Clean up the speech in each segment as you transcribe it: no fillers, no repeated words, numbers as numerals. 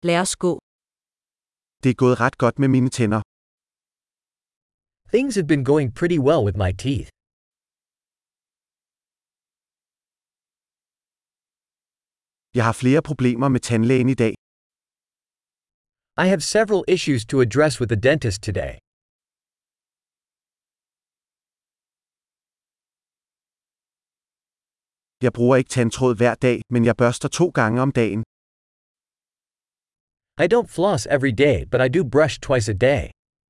Lad os gå. Det er gået ret godt med mine tænder. Things have been going pretty well with my teeth. Jeg har flere problemer med tandlægen i dag. I have several issues to address with the dentist today. Jeg bruger ikke tandtråd hver dag, men jeg børster 2 gange om dagen. I don't floss every day, but I do brush twice a day.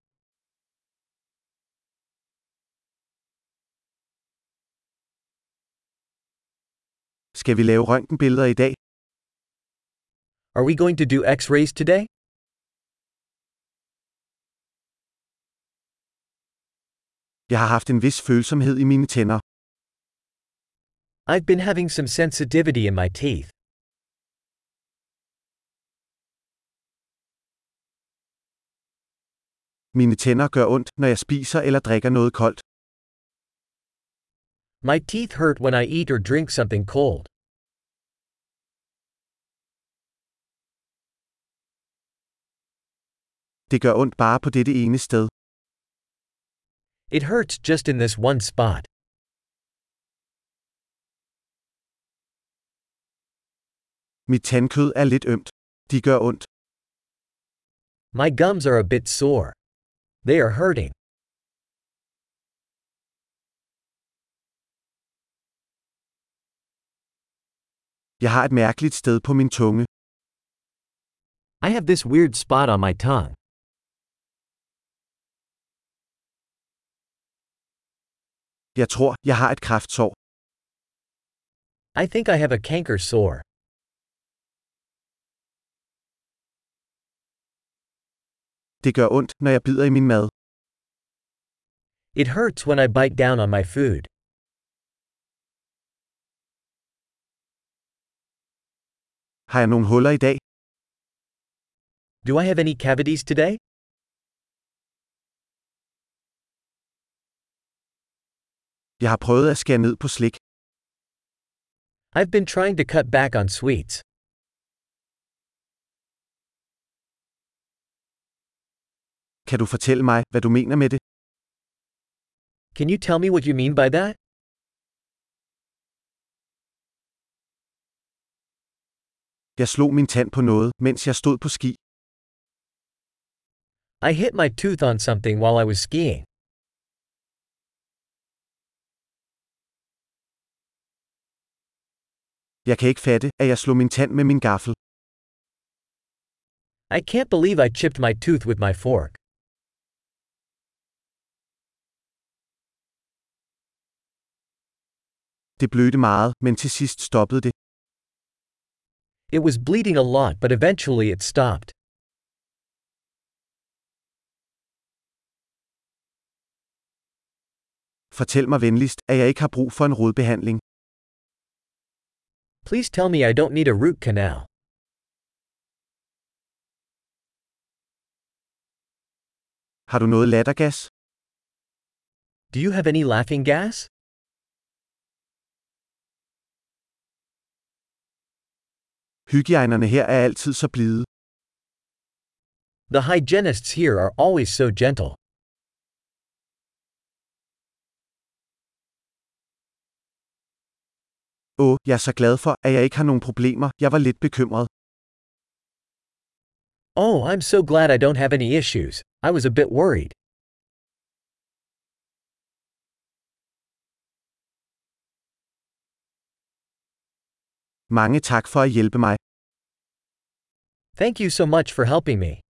Skal vi lave røntgenbilleder i dag? Are we going to do X-rays today? Jeg har haft en vis følsomhed i mine tænder. I've been having some sensitivity in my teeth. Mine tænder gør ondt, når jeg spiser eller drikker noget koldt. My teeth hurt when I eat or drink something cold. Det gør ondt bare på dette ene sted. It hurts just in this one spot. Mit tandkød er lidt ømt. De gør ondt. My gums are a bit sore. They are hurting. Jeg har et mærkeligt sted på min tunge. I have this weird spot on my tongue. Jeg tror, jeg har et kræftsår. I think I have a canker sore. Det gør ondt, når jeg bider i min mad. It hurts when I bite down on my food. Har jeg nogle huller i dag? Do I have any cavities today? Jeg har prøvet at skære ned på slik. I've been trying to cut back on sweets. Kan du fortælle mig, hvad du mener med det? Can you tell me what you mean by that? Jeg slog min tand på noget, mens jeg stod på ski. I hit my tooth on something while I was skiing. Jeg kan ikke fatte, at jeg slog min tand med min gaffel. I can't believe I chipped my tooth with my fork. Det blødte meget, men til sidst stoppede det. It was bleeding a lot, but eventually it stopped. Fortæl mig venligst, at jeg ikke har brug for en rodbehandling. Please tell me I don't need a root canal. Har du noget lattergas? Do you have any laughing gas? Hygiejnerne her er altid så blide. The hygienists here are always so gentle. Jeg er så glad for, at jeg ikke har nogen problemer. Jeg var lidt bekymret. Oh, I'm so glad I don't have any issues. I was a bit worried. Mange tak for at hjælpe mig. Thank you so much for helping me.